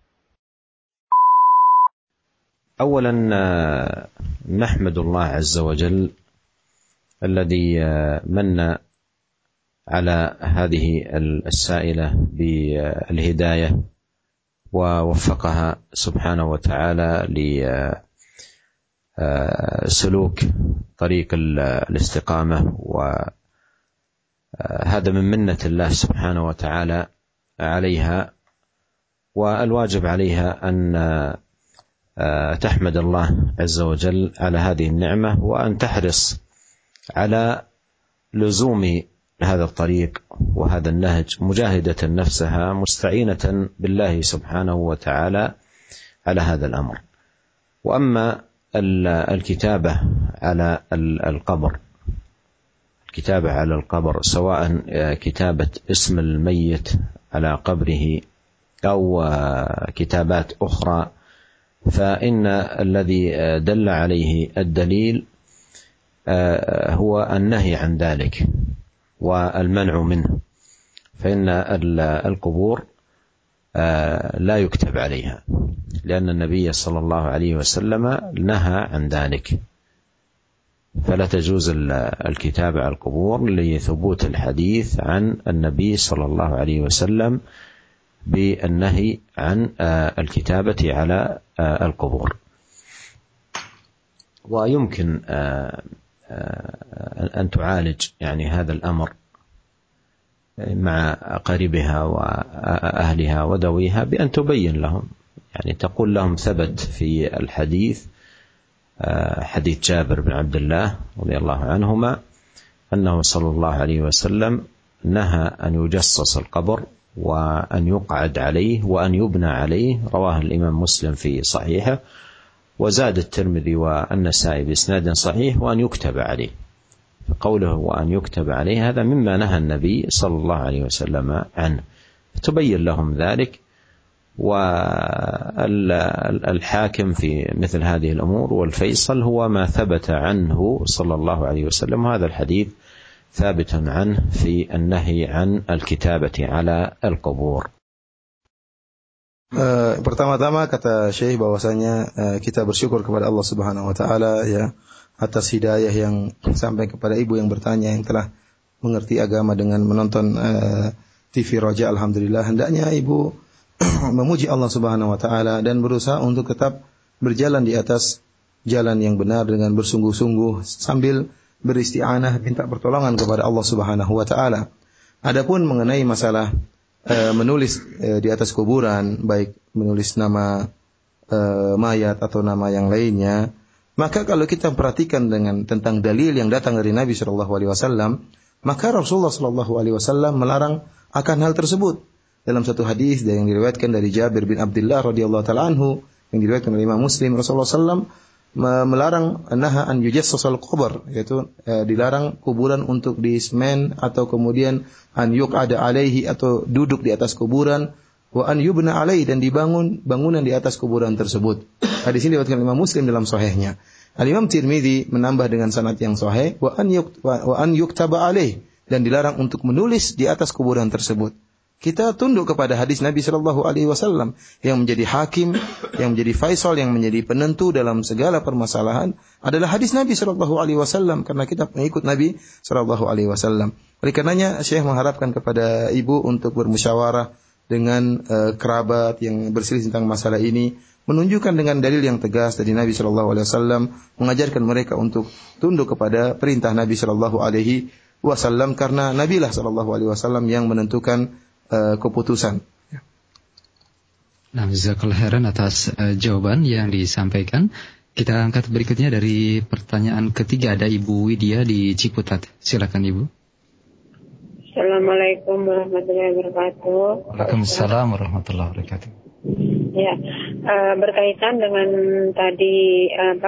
أولا نحمد الله عز وجل الذي من على هذه السائلة بالهداية ووفقها سبحانه وتعالى لسلوك طريق الاستقامة، وهذا من منة الله سبحانه وتعالى عليها، والواجب عليها أن تحمد الله عز وجل على هذه النعمة، وأن تحرص على لزوم هذا الطريق وهذا النهج، مجاهدة نفسها مستعينة بالله سبحانه وتعالى على هذا الأمر. وأما الكتابة على القبر سواء كتابة اسم الميت على قبره أو كتابات أخرى، فإن الذي دل عليه الدليل هو النهي عن ذلك والمنع منه، فإن القبور لا يكتب عليها، لأن النبي صلى الله عليه وسلم نهى عن ذلك، فلا تجوز الكتابة على القبور لثبوت الحديث عن النبي صلى الله عليه وسلم بالنهي عن الكتابة على القبور. ويمكن أن تعالج يعني هذا الأمر مع قريبها وأهلها وذويها بأن تبين لهم، يعني تقول لهم ثبت في الحديث حديث جابر بن عبد الله رضي الله عنهما أنه صلى الله عليه وسلم نهى أن يجصص القبر وأن يقعد عليه وأن يبنى عليه، رواه الإمام مسلم في صحيحه، وزاد الترمذي والنسائي بإسناد صحيح وأن يكتب عليه. فقوله وأن يكتب عليه هذا مما نهى النبي صلى الله عليه وسلم عنه، تبين لهم ذلك. الحاكم في مثل هذه الأمور والفيصل هو ما ثبت عنه صلى الله عليه وسلم، وهذا الحديث ثابت عنه في النهي عن الكتابة على القبور. Pertama-tama kata Syekh bahwasanya kita bersyukur kepada Allah Subhanahu wa taala ya atas hidayah yang sampai kepada ibu yang bertanya yang telah mengerti agama dengan menonton TV Roja. Alhamdulillah, hendaknya ibu memuji Allah Subhanahu wa taala dan berusaha untuk tetap berjalan di atas jalan yang benar dengan bersungguh-sungguh sambil beristi'anah minta pertolongan kepada Allah Subhanahu wa taala. Adapun mengenai masalah menulis di atas kuburan, baik menulis nama mayat atau nama yang lainnya, maka kalau kita perhatikan tentang dalil yang datang dari Nabi sallallahu alaihi wasallam, maka Rasulullah sallallahu alaihi wasallam melarang akan hal tersebut. Dalam satu hadis yang diriwayatkan dari Jabir bin Abdullah radhiyallahu taala anhu yang diriwayatkan oleh Imam Muslim, Rasulullah sallallahu melarang naha an yujassasal qubur, yaitu dilarang kuburan untuk disemen atau kemudian an yuqada alaihi atau duduk di atas kuburan, wa an yubna alaihi dan dibangun bangunan di atas kuburan tersebut. Hadis ini diriwayatkan Imam Muslim dalam sahihnya. Al-Imam Tirmidzi menambah dengan sanad yang sahih wa an yuktaba alaihi dan dilarang untuk menulis di atas kuburan tersebut. Kita tunduk kepada hadis Nabi sallallahu alaihi wasallam yang menjadi hakim, yang menjadi faisal, yang menjadi penentu dalam segala permasalahan adalah hadis Nabi sallallahu alaihi wasallam karena kita mengikut Nabi sallallahu alaihi wasallam. Oleh karenanya Syekh mengharapkan kepada ibu untuk bermusyawarah dengan kerabat yang berselisih tentang masalah ini, menunjukkan dengan dalil yang tegas dari Nabi sallallahu alaihi wasallam, mengajarkan mereka untuk tunduk kepada perintah Nabi sallallahu alaihi wasallam karena Nabilah sallallahu alaihi wasallam yang menentukan keputusan. Nah, jazakallahu khairan atas jawaban yang disampaikan. Kita angkat berikutnya dari pertanyaan ketiga, ada Ibu Widya di Ciputat. Silakan Ibu. Assalamualaikum warahmatullahi wabarakatuh. Waalaikumsalam warahmatullahi wabarakatuh. Ya, berkaitan dengan tadi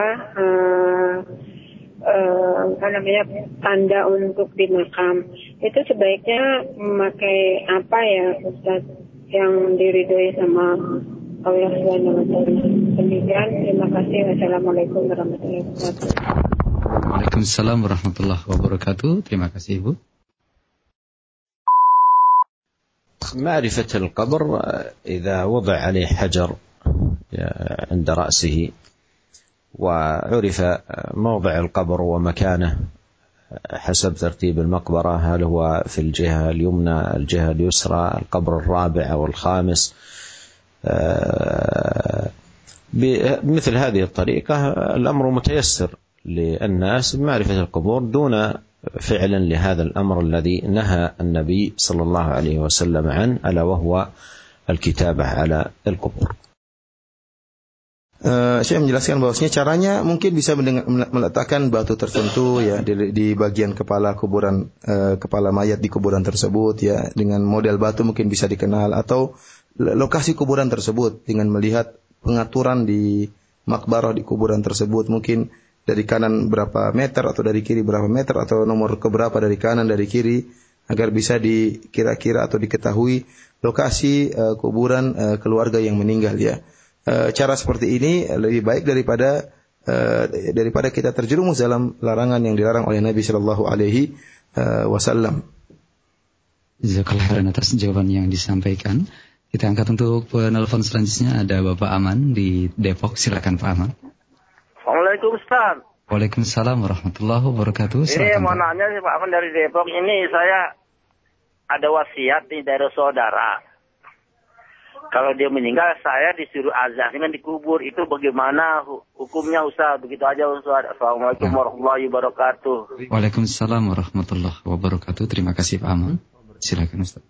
tanda untuk di makam itu sebaiknya memakai apa ya Ustaz yang diridhoi sama Allah Subhanahu wa taala. Demikian, terima kasih. Wassalamualaikum warahmatullahi wabarakatuh. Waalaikumsalam warahmatullahi wabarakatuh. Terima kasih Ibu. معرفة القبر إذا وضع عليه حجر عند رأسه وعرف موضع القبر ومكانه حسب ترتيب المقبرة، هل هو في الجهة اليمنى، الجهة اليسرى، القبر الرابع أو الخامس، بمثل هذه الطريقة الأمر متيسر للناس بمعرفة القبور دون فعلا لهذا الأمر الذي نهى النبي صلى الله عليه وسلم عنه ألا وهو الكتابة على القبور. Saya menjelaskan bahwasanya caranya mungkin bisa meletakkan batu tertentu ya di bagian kepala kuburan, kepala mayat di kuburan tersebut ya, dengan model batu mungkin bisa dikenal, atau lokasi kuburan tersebut dengan melihat pengaturan di makbarah di kuburan tersebut, mungkin dari kanan berapa meter atau dari kiri berapa meter atau nomor keberapa dari kanan dari kiri, agar bisa dikira-kira atau diketahui lokasi kuburan keluarga yang meninggal ya. Cara seperti ini lebih baik daripada kita terjerumus dalam larangan yang dilarang oleh Nabi sallallahu alaihi wasallam. Jazakallahu khairan atas jawaban yang disampaikan. Kita angkat untuk penelpon selanjutnya, ada Bapak Aman di Depok. Silakan Pak Aman. Assalamualaikum Ustaz. Waalaikumsalam warahmatullahi wabarakatuh. Ini mau nanya sih Pak Aman dari Depok. Ini saya ada wasiat nih dari saudara. Kalau dia meninggal, saya disuruh azan dengan dikubur. Itu bagaimana hukumnya Ustaz? Begitu aja Ustaz. Assalamualaikum warahmatullahi wabarakatuh. Waalaikumsalam warahmatullahi wabarakatuh. Terima kasih Pak Aman. Silakan Ustaz.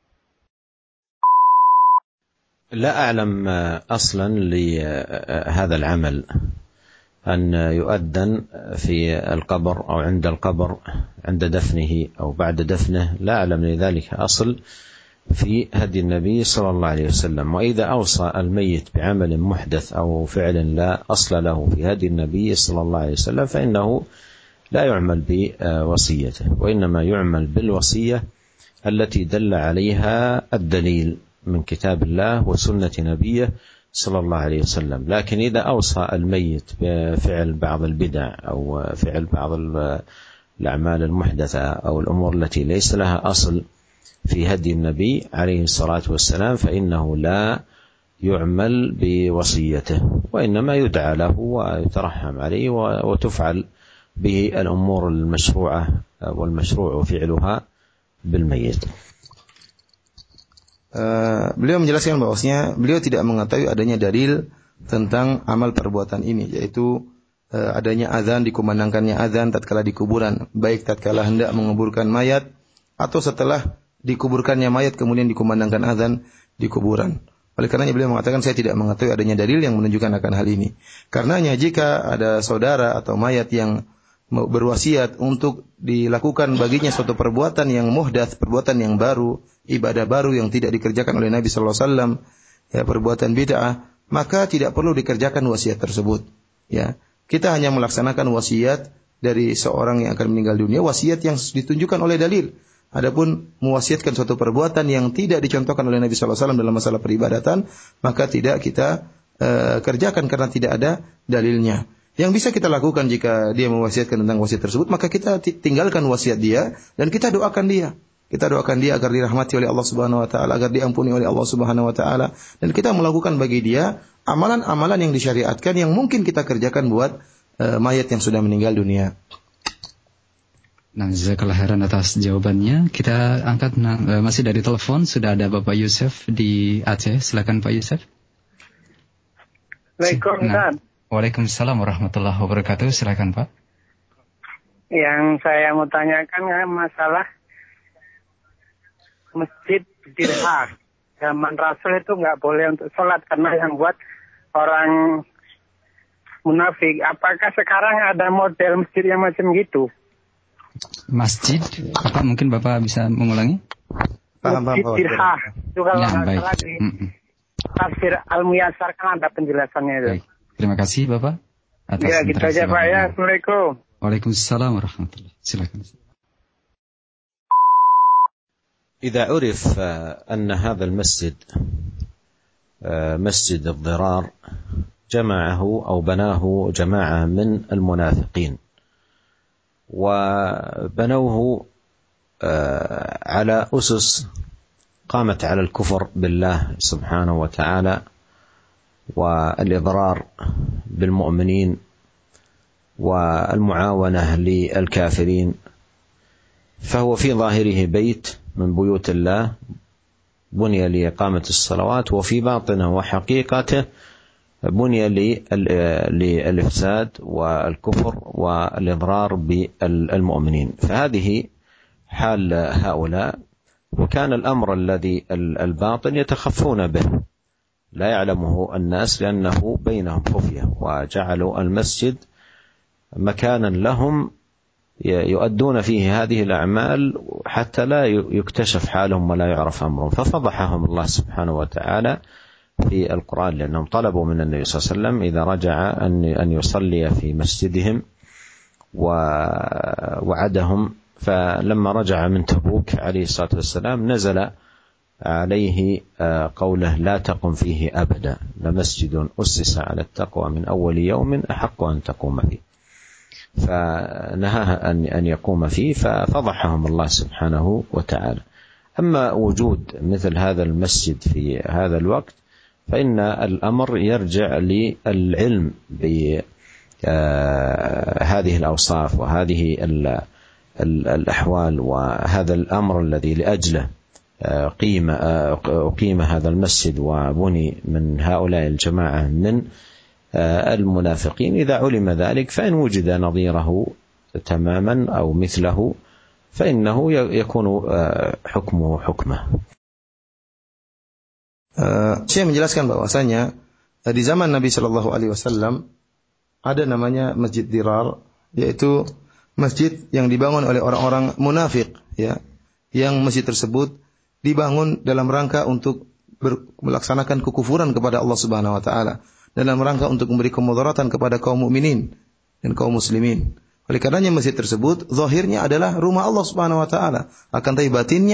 لا أعلم أصلا لهذا العمل أن يؤذن في القبر أو عند القبر عند دفنه أو بعد دفنه، لا أعلم لذلك أصل في هدي النبي صلى الله عليه وسلم. وإذا أوصى الميت بعمل محدث أو فعل لا أصل له في هدي النبي صلى الله عليه وسلم فإنه لا يعمل بوصيته، وإنما يعمل بالوصية التي دل عليها الدليل من كتاب الله وسنة نبيه صلى الله عليه وسلم. لكن إذا أوصى الميت بفعل بعض البدع أو فعل بعض الأعمال المحدثة أو الأمور التي ليس لها أصل في هدي النبي عليه الصلاة والسلام فإنه لا يعمل بوصيته، وإنما يدعى له ويترحم عليه وتفعل به الأمور المشروعة والمشروع فعلها بالميت. Beliau menjelaskan bahwasanya beliau tidak mengetahui adanya dalil tentang amal perbuatan ini, yaitu adanya azan, dikumandangkannya azan tatkala di kuburan, baik tatkala hendak menguburkan mayat atau setelah dikuburkannya mayat kemudian dikumandangkan azan di kuburan. Oleh karenanya beliau mengatakan saya tidak mengetahui adanya dalil yang menunjukkan akan hal ini. Karenanya jika ada saudara atau mayat yang berwasiat untuk dilakukan baginya suatu perbuatan yang muhdats, perbuatan yang baru, ibadah baru yang tidak dikerjakan oleh Nabi sallallahu alaihi wasallam, ya perbuatan bid'ah, maka tidak perlu dikerjakan wasiat tersebut. Ya, kita hanya melaksanakan wasiat dari seorang yang akan meninggal dunia, wasiat yang ditunjukkan oleh dalil. Adapun mewasiatkan suatu perbuatan yang tidak dicontohkan oleh Nabi sallallahu alaihi wasallam dalam masalah peribadatan, maka tidak kita kerjakan karena tidak ada dalilnya. Yang bisa kita lakukan jika dia mewasiatkan tentang wasiat tersebut, maka kita tinggalkan wasiat dia dan kita doakan dia. Kita doakan dia agar dirahmati oleh Allah Subhanahu wa taala, agar diampuni oleh Allah Subhanahu wa taala, dan kita melakukan bagi dia amalan-amalan yang disyariatkan yang mungkin kita kerjakan buat mayat yang sudah meninggal dunia. Nah, jazakallah khairan atas jawabannya. Kita angkat masih dari telepon, sudah ada Bapak Yusuf di Aceh. Silakan Pak Yusuf. Waalaikumsalam. Waalaikumsalam warahmatullahi wabarakatuh. Silakan Pak. Yang saya mau tanyakan masalah masjid Dirhah. Zaman Rasul itu nggak boleh untuk sholat karena yang buat orang munafik. Apakah sekarang ada model masjid yang macam gitu? Masjid? Apa mungkin Bapak bisa mengulangi? Masjid Dirhah. Itu kalau nggak salah di Tafsir Al-Muyassar kan ada penjelasannya itu. Baik. Terima kasih Bapak atas ya, gitu aja Pak ya. Assalamualaikum. Waalaikumsalam warahmatullahi. Silakan. إذا عرف أن هذا المسجد مسجد الضرار جمعه أو بناه جماعة من المنافقين وبنوه على أسس قامت على الكفر بالله سبحانه وتعالى والإضرار بالمؤمنين والمعاونة للكافرين، فهو في ظاهره بيت من بيوت الله بني لإقامة الصلوات، وفي باطنه وحقيقته بني للإفساد والكفر والإضرار بالمؤمنين. فهذه حال هؤلاء، وكان الأمر الذي الباطن يتخفون به لا يعلمه الناس لأنه بينهم خفية، وجعلوا المسجد مكانا لهم يؤدون فيه هذه الأعمال حتى لا يكتشف حالهم ولا يعرف أمرهم، ففضحهم الله سبحانه وتعالى في القرآن لأنهم طلبوا من النبي صلى الله عليه وسلم إذا رجع أن يصلي في مسجدهم ووعدهم. فلما رجع من تبوك عليه الصلاة والسلام نزل عليه قوله لا تقم فيه أبدا لمسجد أسس على التقوى من أول يوم أحق أن تقوم فيه، فنهاه أن يقوم فيه ففضحهم الله سبحانه وتعالى. أما وجود مثل هذا المسجد في هذا الوقت فإن الأمر يرجع للعلم بهذه الأوصاف وهذه الأحوال وهذا الأمر الذي لأجله أقيم هذا المسجد وبني من هؤلاء الجماعة من المنافقين. إذا علم ذلك فإن وجد نظيره تماما أو مثله فإنه يكون حكمه حكمه. Saya menjelaskan bahwasanya di zaman Nabi Shallallahu Alaihi Wasallam ada namanya Masjid Dirar, yaitu masjid yang dibangun oleh orang-orang munafik, ya, yang masjid tersebut dibangun dalam rangka untuk melaksanakan kekufuran kepada Allah Subhanahu wa taala, dalam rangka untuk memberi kemudaratan kepada kaum mukminin dan kaum muslimin. Oleh karenanya masjid tersebut zahirnya adalah rumah Allah Subhanahu wa taala, akan tapi batinnya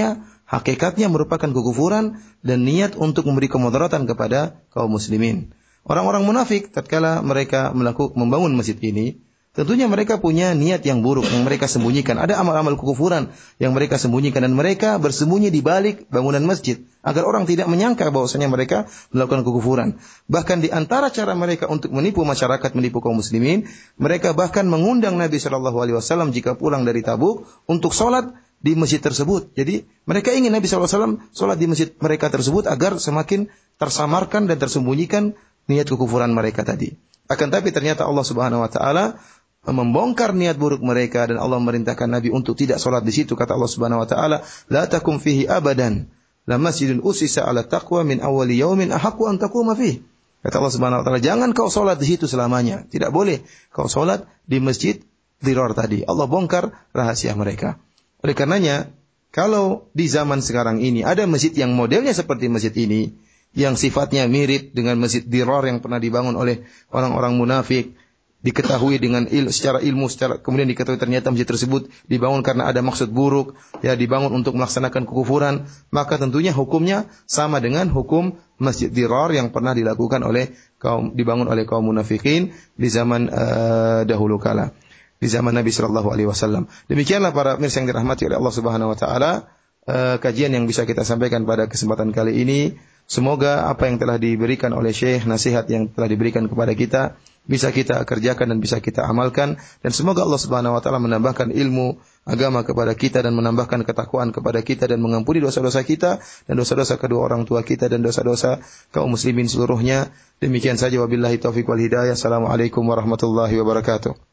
hakikatnya merupakan kekufuran dan niat untuk memberi kemudaratan kepada kaum muslimin. Orang-orang munafik tatkala mereka membangun masjid ini, tentunya mereka punya niat yang buruk yang mereka sembunyikan. Ada amal-amal kekufuran yang mereka sembunyikan dan mereka bersembunyi di balik bangunan masjid agar orang tidak menyangka bahwasanya mereka melakukan kekufuran. Bahkan di antara cara mereka untuk menipu masyarakat, menipu kaum muslimin, mereka bahkan mengundang Nabi SAW jika pulang dari Tabuk untuk sholat di masjid tersebut. Jadi mereka ingin Nabi SAW sholat di masjid mereka tersebut agar semakin tersamarkan dan tersembunyikan niat kekufuran mereka tadi. Akan tapi ternyata Allah Subhanahu wa taala membongkar niat buruk mereka dan Allah merintahkan Nabi untuk tidak sholat di situ. Kata Allah Subhanahu wa taala, "La takum fihi abadan. La masjidun usisa 'ala taqwa min awwali yaumin ahaqqu an taquma fihi." Kata Allah Subhanahu wa taala, jangan kau sholat di situ selamanya. Tidak boleh kau sholat di masjid Dirar tadi. Allah bongkar rahasia mereka. Oleh karenanya, kalau di zaman sekarang ini ada masjid yang modelnya seperti masjid ini, yang sifatnya mirip dengan masjid Dirar yang pernah dibangun oleh orang-orang munafik, diketahui dengan secara ilmu, kemudian diketahui ternyata masjid tersebut dibangun karena ada maksud buruk, ya dibangun untuk melaksanakan kekufuran, maka tentunya hukumnya sama dengan hukum masjid Dirar yang pernah dilakukan dibangun oleh kaum munafikin di zaman dahulu kala, di zaman Nabi sallallahu alaihi wasallam. Demikianlah para pemirsa yang dirahmati oleh Allah Subhanahu wa taala, kajian yang bisa kita sampaikan pada kesempatan kali ini. Semoga apa yang telah diberikan oleh Syekh, nasihat yang telah diberikan kepada kita, bisa kita kerjakan dan bisa kita amalkan. Dan semoga Allah Subhanahu wa taala menambahkan ilmu agama kepada kita dan menambahkan ketakwaan kepada kita dan mengampuni dosa-dosa kita dan dosa-dosa kedua orang tua kita dan dosa-dosa kaum muslimin seluruhnya. Demikian saja, wabillahi taufiq wal hidayah. Assalamualaikum warahmatullahi wabarakatuh.